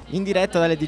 In diretta dalle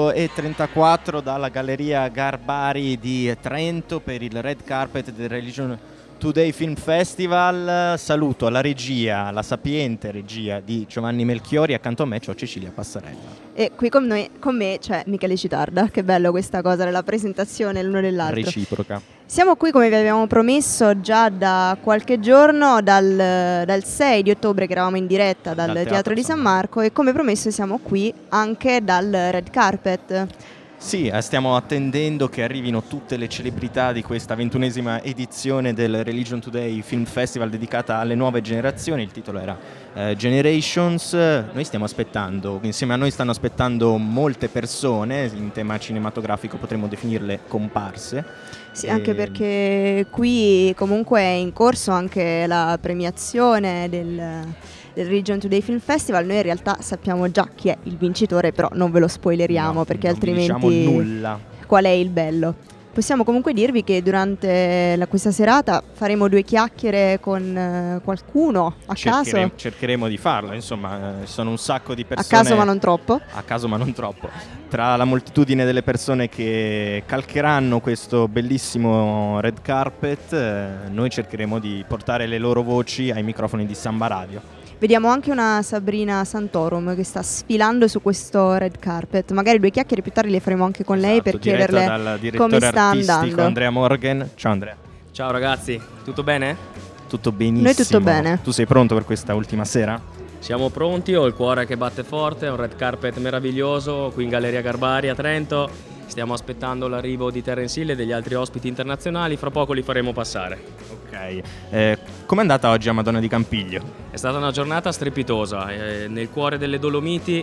18:34 dalla Galleria Garbari di Trento per il red carpet del Religion Today Film Festival. Saluto alla regia, la sapiente regia di Giovanni Melchiori. Accanto a me c'ho Cecilia Passarella. E qui con me c'è Michele Citarda. Che bello questa cosa della presentazione l'uno dell'altro. Reciproca. Siamo qui come vi abbiamo promesso già da qualche giorno, dal 6 di ottobre che eravamo in diretta dal Teatro di San Marco, e come promesso siamo qui anche dal red carpet. Sì, stiamo attendendo che arrivino tutte le celebrità di questa 21esima edizione del Religion Today Film Festival dedicata alle nuove generazioni. Il titolo era Generations. Noi stiamo aspettando, insieme a noi stanno aspettando molte persone, in tema cinematografico potremmo definirle comparse. Sì, anche perché qui comunque è in corso anche la premiazione del Religion Today Film Festival. Noi in realtà sappiamo già chi è il vincitore, però non ve lo spoileriamo, perché altrimenti non diciamo nulla. Qual è il bello? Possiamo comunque dirvi che durante questa serata faremo due chiacchiere con qualcuno a caso. Cercheremo di farlo, insomma, sono un sacco di persone. A caso ma non troppo. A caso ma non troppo. Tra la moltitudine delle persone che calcheranno questo bellissimo red carpet, noi cercheremo di portare le loro voci ai microfoni di Samba Radio. Vediamo anche una Sabrina Santorum che sta sfilando su questo red carpet. Magari due chiacchiere più tardi le faremo anche con lei per chiederle come sta andando. Andrea Morgan. Ciao Andrea. Ciao ragazzi, tutto bene? Tutto benissimo. Noi tutto bene. Tu sei pronto per questa ultima sera? Siamo pronti, ho il cuore che batte forte, è un red carpet meraviglioso qui in Galleria Garbari a Trento. Stiamo aspettando l'arrivo di Terence Hill e degli altri ospiti internazionali, fra poco li faremo passare. Ok, com'è andata oggi a Madonna di Campiglio? È stata una giornata strepitosa, nel cuore delle Dolomiti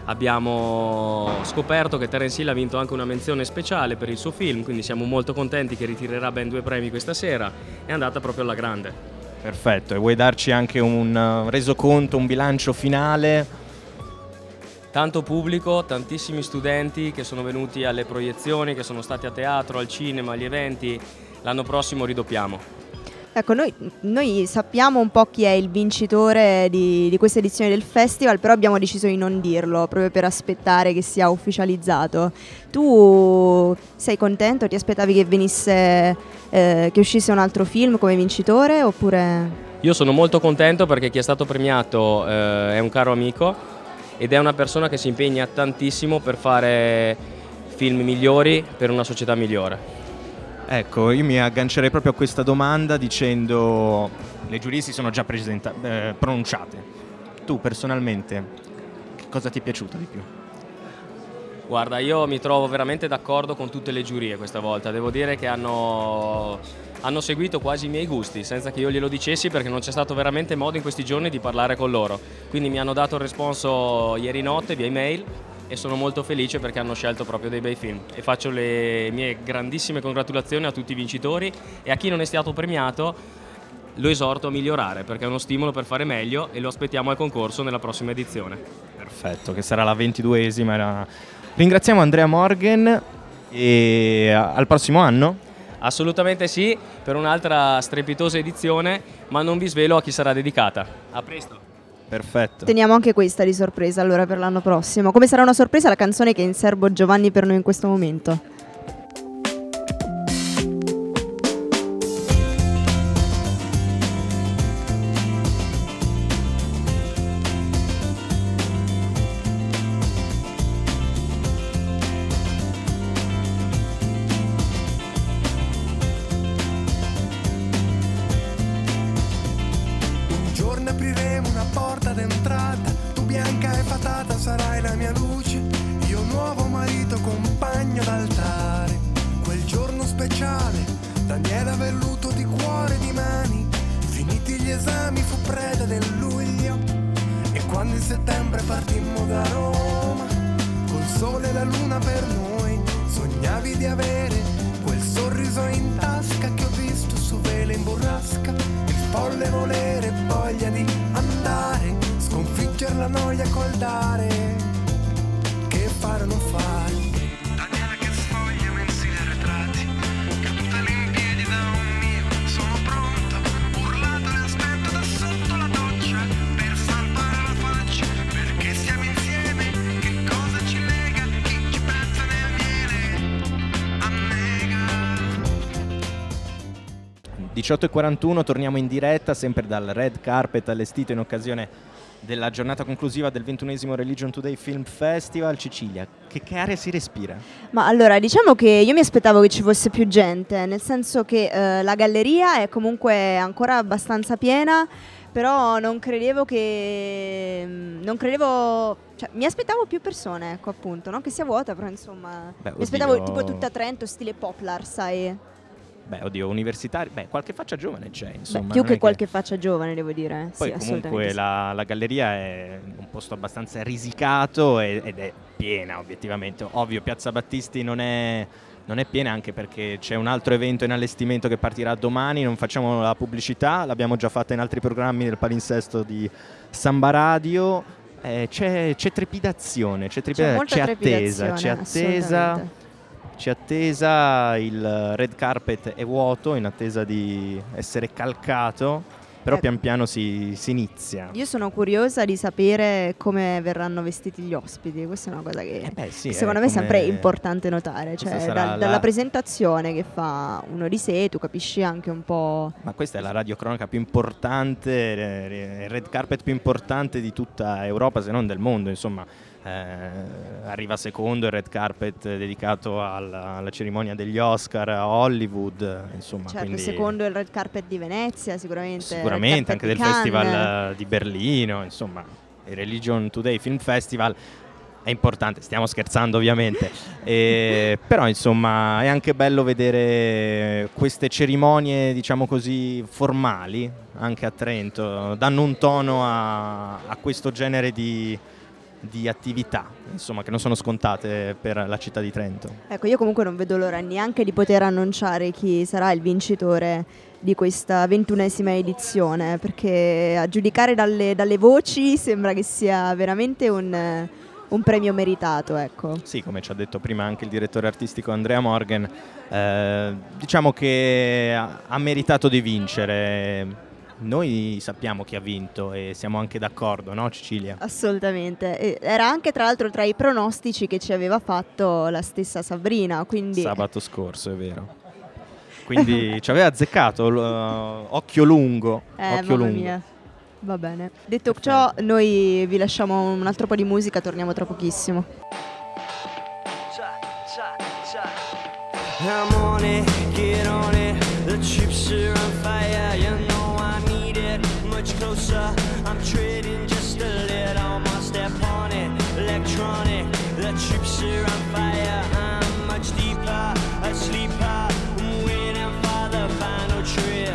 abbiamo scoperto che Terence Hill ha vinto anche una menzione speciale per il suo film, quindi siamo molto contenti che ritirerà ben 2 premi questa sera. È andata proprio alla grande. Perfetto, e vuoi darci anche un resoconto, un bilancio finale? Tanto pubblico, tantissimi studenti che sono venuti alle proiezioni, che sono stati a teatro, al cinema, agli eventi. L'anno prossimo ridoppiamo. Ecco, noi sappiamo un po' chi è il vincitore di questa edizione del festival, però abbiamo deciso di non dirlo, proprio per aspettare che sia ufficializzato. Tu sei contento? Ti aspettavi che venisse, che uscisse un altro film come vincitore, oppure? Io sono molto contento perché chi è stato premiato è un caro amico ed è una persona che si impegna tantissimo per fare film migliori per una società migliore. Ecco, io mi aggancerei proprio a questa domanda dicendo: le giurie si sono già pronunciate. Tu personalmente, che cosa ti è piaciuto di più? Guarda, io mi trovo veramente d'accordo con tutte le giurie questa volta. Devo dire che hanno seguito quasi i miei gusti, senza che io glielo dicessi, perché non c'è stato veramente modo in questi giorni di parlare con loro. Quindi mi hanno dato il responso ieri notte via email e sono molto felice perché hanno scelto proprio dei bei film. E faccio le mie grandissime congratulazioni a tutti i vincitori, e a chi non è stato premiato lo esorto a migliorare, perché è uno stimolo per fare meglio, e lo aspettiamo al concorso nella prossima edizione. Perfetto, che sarà la 22esima. Ringraziamo Andrea Morgan e al prossimo anno? Assolutamente sì, per un'altra strepitosa edizione, ma non vi svelo a chi sarà dedicata. A presto. Perfetto. Teniamo anche questa di sorpresa allora per l'anno prossimo. Come sarà una sorpresa la canzone che è in serbo Giovanni per noi in questo momento? Perché siamo insieme, che cosa ci 18:41, torniamo in diretta sempre dal red carpet allestito in occasione della giornata conclusiva del 21esimo Religion Today Film Festival. Cecilia, che aria si respira? Ma allora, diciamo che io mi aspettavo che ci fosse più gente, nel senso che la galleria è comunque ancora abbastanza piena, però non credevo, cioè, mi aspettavo più persone, ecco, appunto, non che sia vuota, però insomma, mi aspettavo tipo tutta Trento, stile Poplar, sai? Beh, oddio, universitari, qualche faccia giovane c'è, insomma. Più che qualche faccia giovane, devo dire. Poi sì, comunque la galleria è un posto abbastanza risicato ed è piena, obiettivamente. Ovvio, Piazza Battisti non è piena, anche perché c'è un altro evento in allestimento che partirà domani. Non facciamo la pubblicità, l'abbiamo già fatta in altri programmi del palinsesto di Samba Radio. C'è trepidazione, c'è attesa, il red carpet è vuoto in attesa di essere calcato, però pian piano si inizia. Io sono curiosa di sapere come verranno vestiti gli ospiti, questa è una cosa che secondo me è sempre importante notare, cioè dalla presentazione che fa uno di sé tu capisci anche un po'. Ma questa è la radiocronaca più importante, il red carpet più importante di tutta Europa, se non del mondo, insomma. Arriva secondo il red carpet dedicato alla cerimonia degli Oscar a Hollywood, insomma, certo, quindi secondo il red carpet di Venezia sicuramente anche del Festival di Berlino, insomma il Religion Today Film Festival è importante, stiamo scherzando ovviamente, però insomma è anche bello vedere queste cerimonie, diciamo così, formali anche a Trento, danno un tono a questo genere di attività, insomma, che non sono scontate per la città di Trento. Ecco, io comunque non vedo l'ora neanche di poter annunciare chi sarà il vincitore di questa 21esima edizione, perché a giudicare dalle voci sembra che sia veramente un premio meritato, ecco. Sì, come ci ha detto prima anche il direttore artistico Andrea Morgan, diciamo che ha meritato di vincere. Noi sappiamo chi ha vinto e siamo anche d'accordo, no Cecilia? Assolutamente, era anche tra l'altro tra i pronostici che ci aveva fatto la stessa Sabrina, quindi sabato scorso, è vero. Quindi ci aveva azzeccato, occhio lungo. Occhio lungo. Mia. Va bene. Detto ciò, noi vi lasciamo un altro po' di musica, torniamo tra pochissimo. I'm on it, get on it, the chips are on fire, you know I need it, much closer, I'm trading just a little more, step on it, electronic, the chips are on fire, I'm much deeper, a sleeper, I'm waiting for the final trip.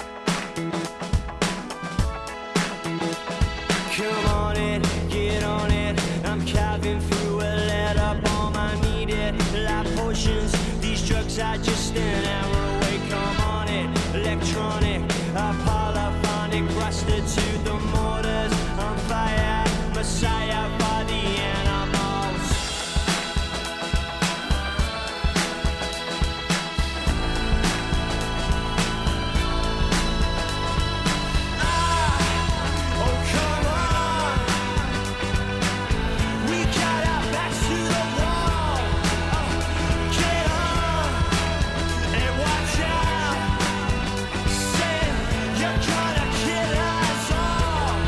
Come on it, get on it, I'm carving through a letter bomb, I need it, like potions, these drugs are just an hour away, come on it, electronic, a polyphonic, rusted to the mortars, on fire, messiah for the animals. Oh come on, we got our backs to the wall, get on and watch out, say you're gonna kill us all.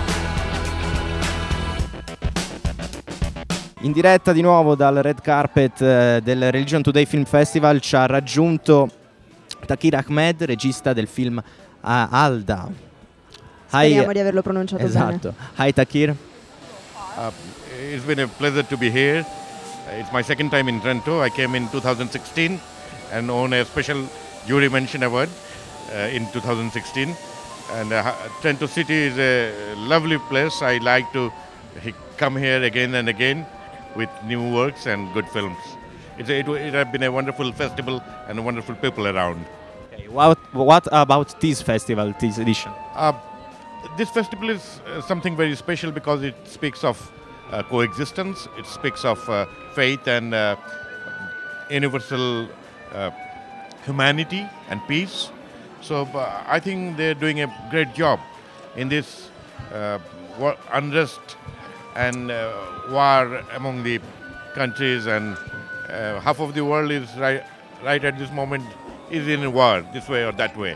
In diretta di nuovo dal red carpet del Religion Today Film Festival ci ha raggiunto Takir Ahmed, regista del film Alda. Speriamo di averlo pronunciato esatto. Bene. Hi Takir. It's been a pleasure to be here. It's my second time in Trento. I came in 2016 and won a special jury mention award in 2016. And Trento City is a lovely place. I like to come here again and again with new works and good films. It has been a wonderful festival and wonderful people around. Okay, what about this festival, this edition? This festival is something very special because it speaks of coexistence, it speaks of faith and universal humanity and peace. So I think they're doing a great job in this unrest and war among the countries, and half of the world is right at this moment is in a war, this way or that way.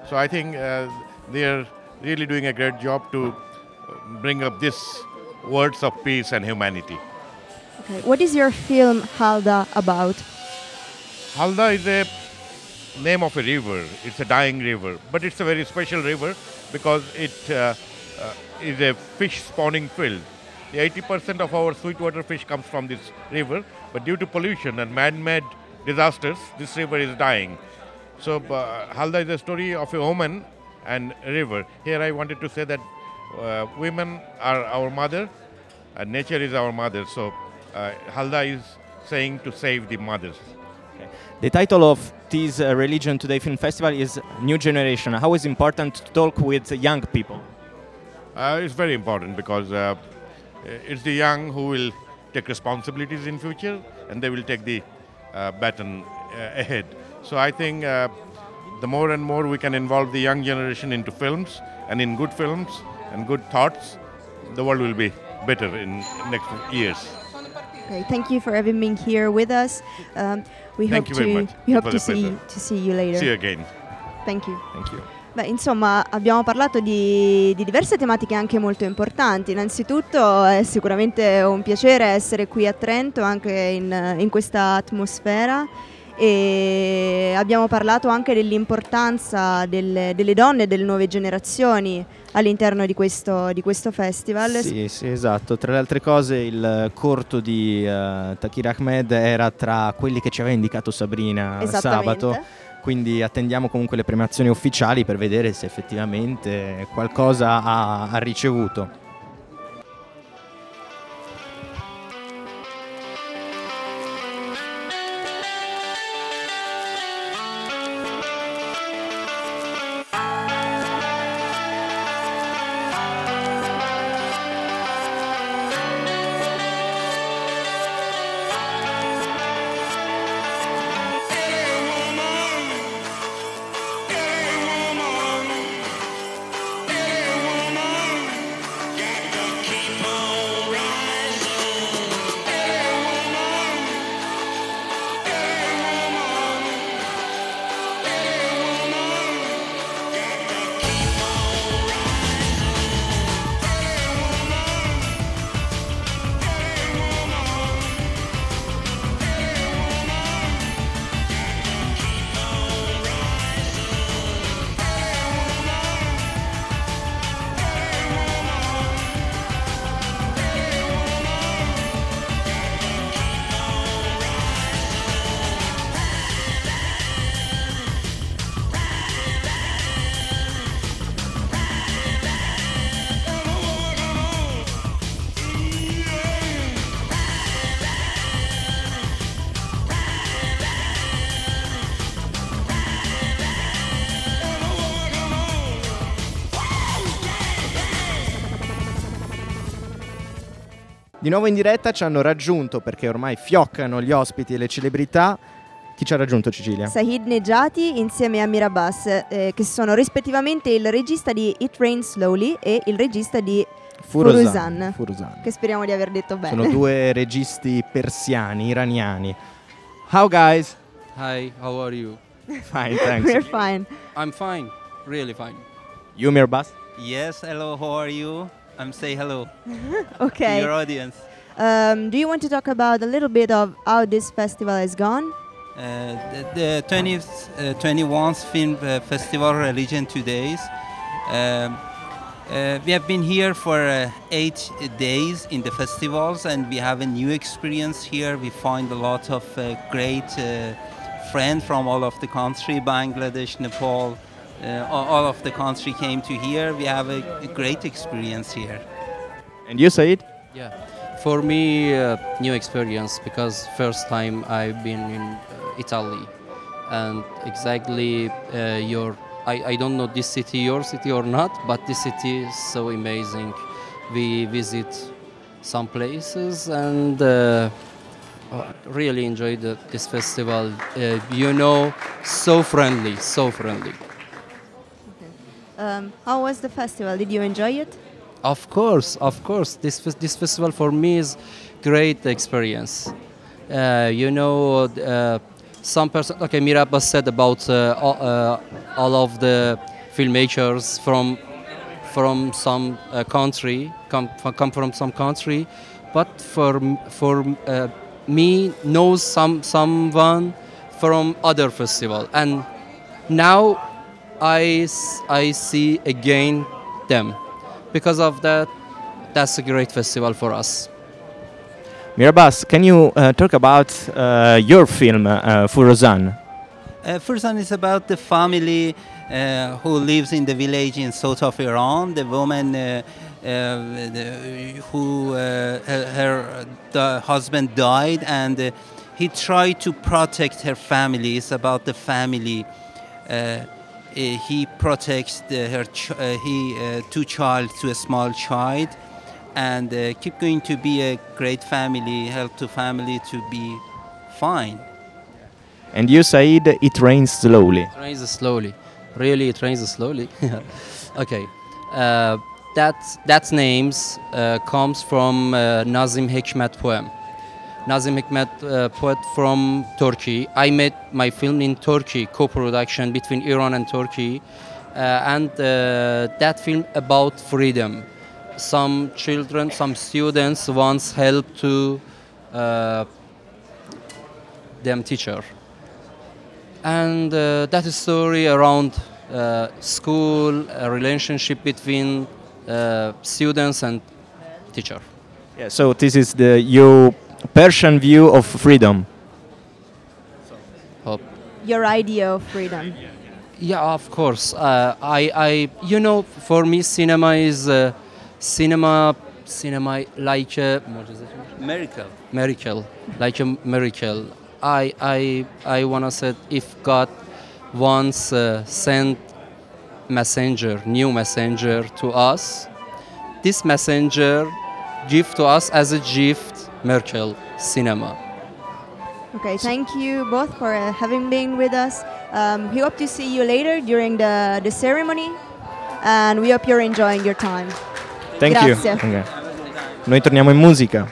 So I think they are really doing a great job to bring up these words of peace and humanity. Okay. What is your film Halda about? Halda is a name of a river. It's a dying river, but it's a very special river because it is a fish spawning field. 80% of our sweetwater fish comes from this river, but due to pollution and man-made disasters, this river is dying. So Halda is a story of a woman and a river. Here I wanted to say that women are our mother and nature is our mother. So Halda is saying to save the mothers. The title of this Religion Today Film Festival is New Generation. How is it important to talk with young people? It's very important because it's the young who will take responsibilities in future and they will take the baton ahead. So I think the more and more we can involve the young generation into films and in good films and good thoughts, the world will be better in next years. Okay, thank you for having been here with us. We Thank you very much. We It hope was to a pleasure. see you later. See you again. Thank you. Thank you. Beh, insomma, abbiamo parlato di diverse tematiche anche molto importanti. Innanzitutto è sicuramente un piacere essere qui a Trento, anche in questa atmosfera. E abbiamo parlato anche dell'importanza delle donne e delle nuove generazioni all'interno di questo festival. Sì, esatto. Tra le altre cose il corto di Takir Ahmed era tra quelli che ci aveva indicato Sabrina sabato, quindi attendiamo comunque le premiazioni ufficiali per vedere se effettivamente qualcosa ha ricevuto. Di nuovo in diretta ci hanno raggiunto, perché ormai fioccano gli ospiti e le celebrità. Chi ci ha raggiunto, Cecilia? Sahid Nejati insieme a Amir Abbas, che sono rispettivamente il regista di It Rains Slowly e il regista di Furuzan, che speriamo di aver detto bene. Sono due registi persiani, iraniani. How guys? Hi, how are you? Fine, thanks. We're fine. I'm fine, really fine. You, Amir Abbas? Yes, hello, how are you? Say hello Okay. to your audience. Do you want to talk about a little bit of how this festival has gone? The 21st Film Festival Religion Todays. We have been here for 8 days in the festivals and we have a new experience here. We find a lot of great friends from all of the country, Bangladesh, Nepal, all of the country came to here. We have a great experience here. And you, Said? Yeah, for me, new experience because first time I've been in Italy, and exactly I don't know this city, your city or not, but this city is so amazing. We visit some places and really enjoyed this festival. So friendly, so friendly. How was the festival? Did you enjoy it? Of course. This festival for me is great experience. Some person, okay, Amir Abbas said about all of the filmmakers from some country, come from some country, but for me knows someone from other festival, and now I see again them. Because of that, that's a great festival for us. Mirabas, can you talk about your film, Furosan? Furosan is about the family who lives in the village in south of Iran. The woman the husband died, and he tried to protect her family. It's about the family. He protects two child to a small child, and keep going to be a great family, help to family to be fine. And you said it rains slowly. It rains slowly. Really, it rains slowly. Okay. That names comes from Nazim Hikmet poem. Nazim Hikmet poet from Turkey. I made my film in Turkey, co-production between Iran and Turkey, and that film about freedom. Some children, some students once helped to them teacher, and that is story around school, a relationship between students and teacher. Yeah, so this is your Persian view of freedom. Your idea of freedom. Yeah, of course. For me, cinema is cinema like a miracle, like a miracle. I wanna say, if God wants send new messenger to us, this messenger give to us as a gift miracle cinema. Okay, thank you both for having been with us. We hope to see you later during the ceremony, and we hope you're enjoying your time. Thank Grazie. you. Okay. Noi torniamo in musica.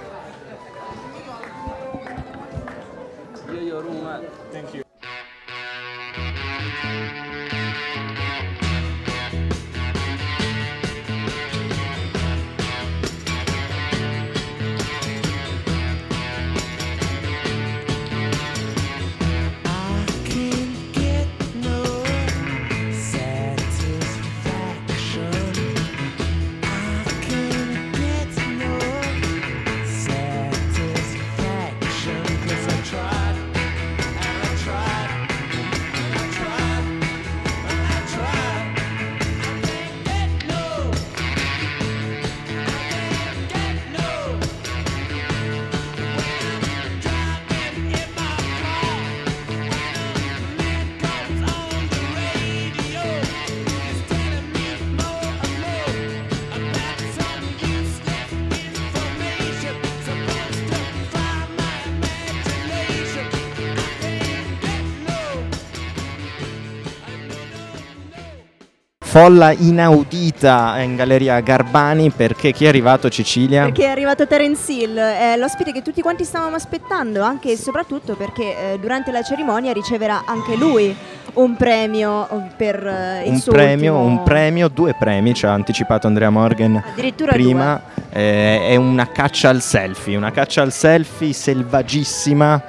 Folla inaudita in Galleria Garbani, perché chi è arrivato, Cecilia? Perché è arrivato Terence Hill, è l'ospite che tutti quanti stavamo aspettando, anche e soprattutto perché durante la cerimonia riceverà anche lui un premio per il suo ultimo... Due premi, ci ha anticipato Andrea Morgan Addirittura prima. È una caccia al selfie selvaggissima,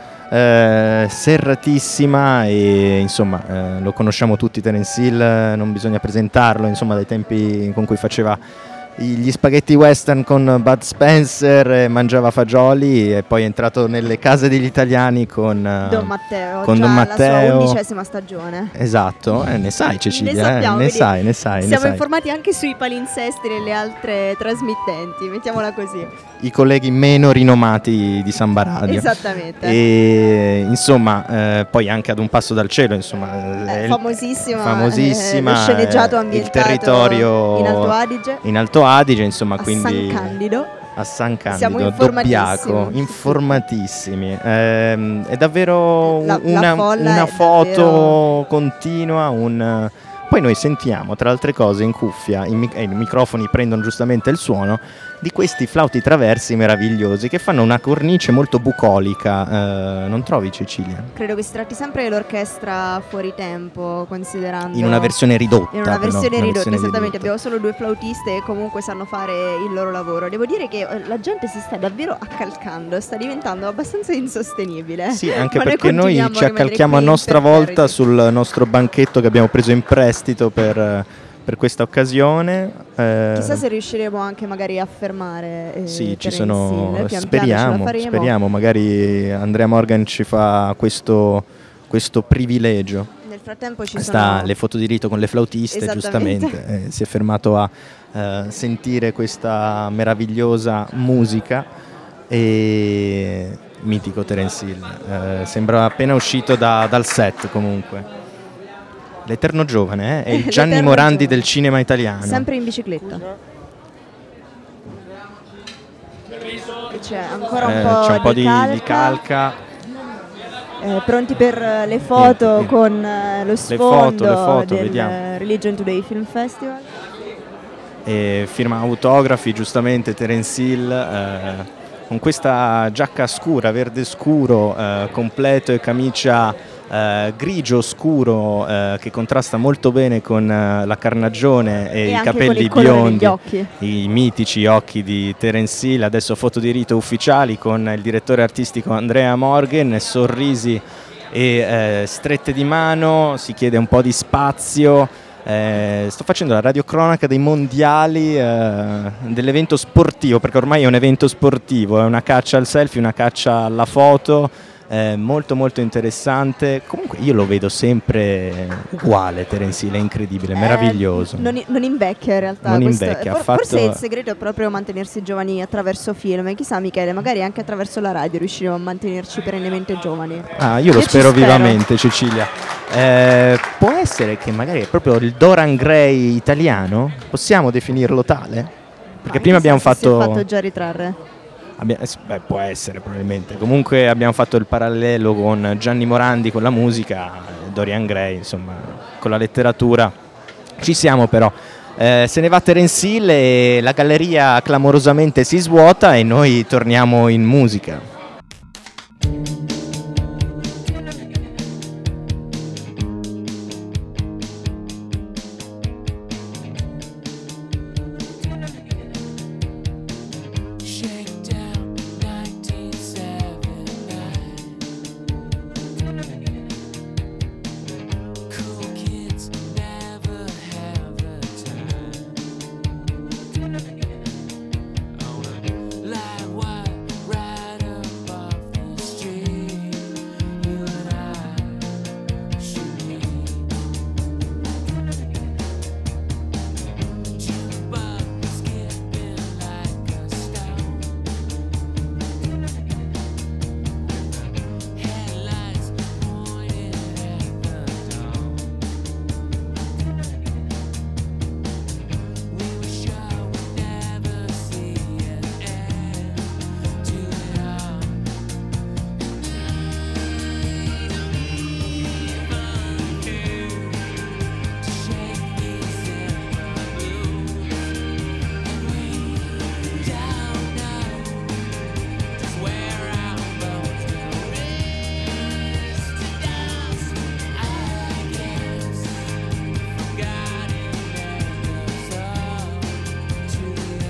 serratissima, e insomma lo conosciamo tutti Terence Hill, non bisogna presentarlo, insomma, dai tempi con cui faceva gli spaghetti western con Bud Spencer, mangiava fagioli, e poi è entrato nelle case degli italiani con Don Matteo, con già Don Matteo. La sua 11ª stagione. Esatto, ne sai Cecilia, ne sappiamo, ne sai. Siamo informati anche sui palinsesti delle altre trasmittenti, mettiamola così. I colleghi meno rinomati di Samba Radio. Esattamente. E insomma, poi anche Ad un passo dal cielo, insomma, famosissima, lo sceneggiato ambientato il territorio in Alto Adige, insomma, a quindi a San Candido, siamo Dobbiaco, informatissimi. È davvero la una folla foto è davvero... continua, Poi noi sentiamo, tra altre cose, in cuffia, i microfoni prendono giustamente il suono di questi flauti traversi meravigliosi che fanno una cornice molto bucolica, non trovi, Cecilia? Credo che si tratti sempre dell'orchestra fuori tempo, considerando... In una versione ridotta. In una versione ridotta, esattamente. ridotta. Abbiamo solo 2 flautiste e comunque sanno fare il loro lavoro. Devo dire che la gente si sta davvero accalcando, sta diventando abbastanza insostenibile. Sì, anche Ma perché noi continuiamo ci a rimanere accalchiamo a qui nostra per volta fare- sul nostro banchetto che abbiamo preso in prestito per questa occasione. Chissà se riusciremo anche magari a fermare. Sì, ci Terence sono. Hill. Pian piano ce la Speriamo, faremo. speriamo. Magari Andrea Morgan ci fa questo privilegio. Nel frattempo ci Sta sono le foto di rito con le flautiste, Esattamente. giustamente. Si è fermato a sentire questa meravigliosa musica. E mitico Terence Hill. Sembra appena uscito dal set, comunque. L'eterno giovane, è il Gianni L'eterno Morandi giovane. del cinema italiano. sempre in bicicletta. E c'è ancora C'è un po' di calca. calca. Pronti per le foto Sì. con lo sfondo le foto, del vediamo. Religion Today Film Festival. E firma autografi, giustamente Terence Hill, con questa giacca scura, verde scuro, completo, e camicia grigio scuro, che contrasta molto bene con la carnagione e i anche con capelli il colore degli biondi, occhi. i mitici occhi di Terence Hill. Adesso foto di rito ufficiali con il direttore artistico Andrea Morgan, sorrisi e strette di mano, si chiede un po' di spazio. Sto facendo la radiocronaca dei mondiali, dell'evento sportivo, perché ormai è un evento sportivo, è una caccia al selfie, una caccia alla foto, molto molto interessante. Comunque io lo vedo sempre uguale, Terence Hill, è incredibile, meraviglioso. Non invecchia in realtà. Non questo- invecchia, ha Forse fatto- il segreto è proprio mantenersi giovani attraverso film. E chissà, Michele, magari anche attraverso la radio riusciremo a mantenerci perennemente giovani. Io lo ci spero vivamente, Cecilia. Può essere che magari è proprio il Dorian Gray italiano? Possiamo definirlo tale? Perché prima abbiamo Si è fatto... fatto già ritrarre. può essere probabilmente. Comunque abbiamo fatto il parallelo con Gianni Morandi con la musica, Dorian Gray, insomma, con la letteratura. Ci siamo però. Se ne va Terence Hill e la galleria clamorosamente si svuota e noi torniamo in musica. Shakedown 1979. Cool kids never have a time. On a live wire right up off the street, you and I should meet. Jukebox skipping like a stone. Headlights pointed at the dawn. We were sure we'd never see an end to it all. To shake these simple blues, and we don't know just where our bones will rest to dust. I guess forgotten members of to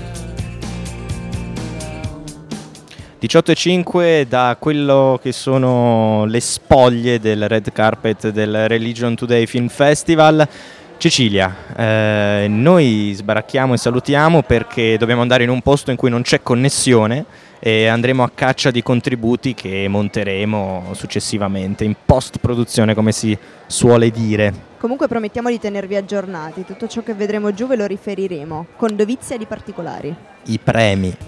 the 18:05 da quello che sono le spoglie del red carpet del Religion Today Film Festival. Cecilia, noi sbaracchiamo e salutiamo perché dobbiamo andare in un posto in cui non c'è connessione e andremo a caccia di contributi che monteremo successivamente in post-produzione, come si suole dire. Comunque promettiamo di tenervi aggiornati. Tutto ciò che vedremo giù ve lo riferiremo con dovizia di particolari. I premi.